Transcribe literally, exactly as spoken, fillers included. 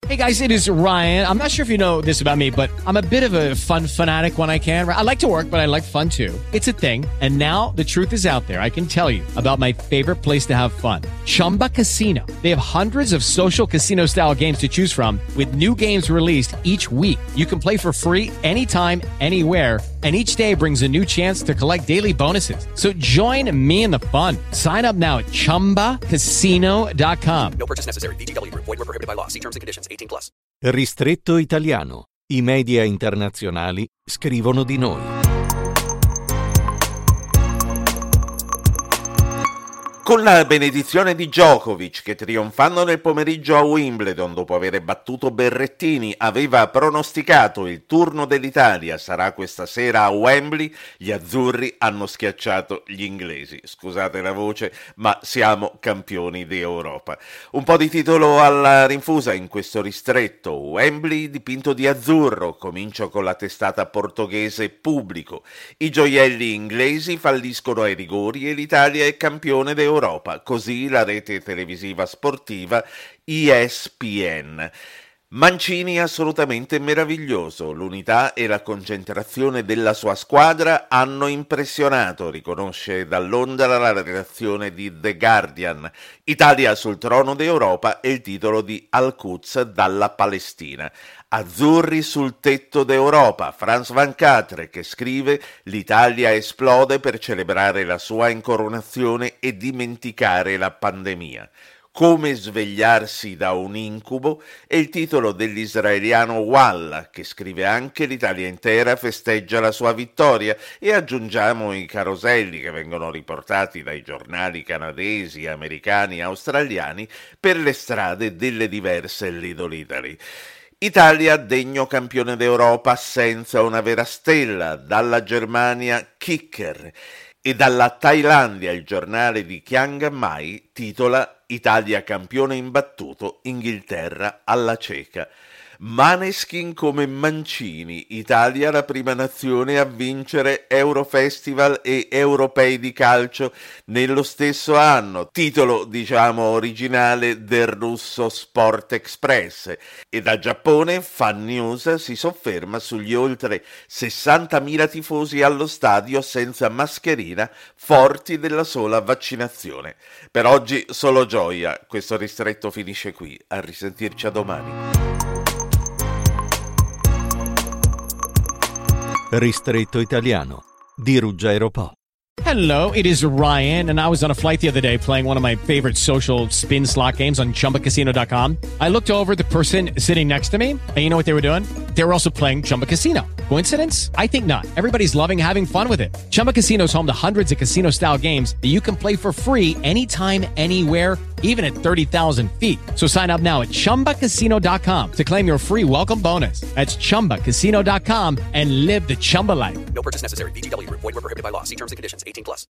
Hey guys, it is Ryan. I'm not sure if you know this about me, but I'm a bit of a fun fanatic when I can. I like to work, but I like fun too. It's a thing. And now the truth is out there. I can tell you about my favorite place to have fun. Chumba Casino. They have hundreds of social casino style games to choose from with new games released each week. You can play for free anytime, anywhere. And each day brings a new chance to collect daily bonuses. So join me in the fun. Sign up now at chumba casino dot com. No purchase necessary. V G W. Void where prohibited by law. See terms and conditions. eighteen plus. Ristretto italiano. I media internazionali scrivono di noi. Con la benedizione di Djokovic, che trionfando nel pomeriggio a Wimbledon dopo aver battuto Berrettini aveva pronosticato il turno dell'Italia sarà questa sera a Wembley, gli azzurri hanno schiacciato gli inglesi. Scusate la voce, ma siamo campioni d'Europa. Un po' di titolo alla rinfusa in questo ristretto. Wembley dipinto di azzurro, comincio con la testata portoghese Pubblico. I gioielli inglesi falliscono ai rigori e l'Italia è campione d'Europa. Europa, così la rete televisiva sportiva E S P N. Mancini assolutamente meraviglioso, l'unità e la concentrazione della sua squadra hanno impressionato, riconosce dall'Ondra la redazione di The Guardian. Italia sul trono d'Europa è il titolo di Al-Quds dalla Palestina. Azzurri sul tetto d'Europa, Franz Van Catre che scrive l'Italia esplode per celebrare la sua incoronazione e dimenticare la pandemia. Come svegliarsi da un incubo è il titolo dell'israeliano Walla, che scrive anche l'Italia intera festeggia la sua vittoria e aggiungiamo i caroselli che vengono riportati dai giornali canadesi, americani, australiani per le strade delle diverse Lidl Italy. Italia degno campione d'Europa senza una vera stella, dalla Germania kicker. E dalla Thailandia il giornale di Chiang Mai titola Italia campione imbattuto, Inghilterra alla cieca. Maneskin come Mancini, Italia la prima nazione a vincere Eurofestival e Europei di calcio nello stesso anno, titolo diciamo originale del russo Sport Express. E da Giappone Fan News si sofferma sugli oltre sessantamila tifosi allo stadio senza mascherina, forti della sola vaccinazione. Per oggi solo gioia, questo ristretto finisce qui, a risentirci a domani. Ristretto italiano di Ruggero Po. Hello, it is Ryan, and I was on a flight the other day playing one of my favorite social spin slot games on chumba casino dot com. I looked over at the person sitting next to me, and you know what they were doing? They were also playing Chumba Casino. Coincidence? I think not. Everybody's loving having fun with it. Chumba Casino is home to hundreds of casino-style games that you can play for free anytime, anywhere, even at thirty thousand feet. So sign up now at chumba casino dot com to claim your free welcome bonus. That's chumba casino dot com and live the Chumba life. No purchase necessary. V G W. Void where prohibited by law. See terms and conditions. eighteen plus.